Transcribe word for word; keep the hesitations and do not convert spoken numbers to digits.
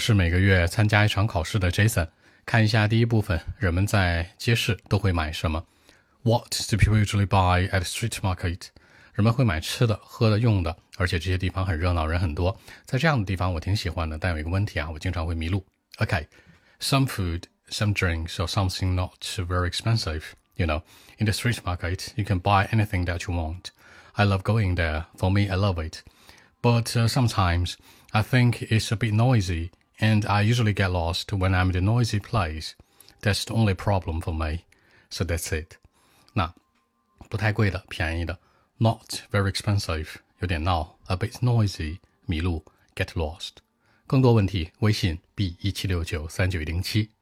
是每个月参加一场考试的 Jason， 看一下第一部分，人们在街市都会买什么 What do people usually buy at street market？ 人们会买吃的、喝的、用的，而且这些地方很热闹，人很多。在这样的地方我挺喜欢的，但有一个问题啊，我经常会迷路。Okay, some food, some drinks or something not very expensive. You know, in the street market, you can buy anything that you want. I love going there. For me, I love it. But uh, sometimes I think it's a bit noisy.And I usually get lost when I'm in the noisy place. That's the only problem for me. So that's it. 那不太贵的，便宜的 Not very expensive 有点闹 A bit noisy 迷路 Get lost 更多问题微信 b 一七六九三九一零七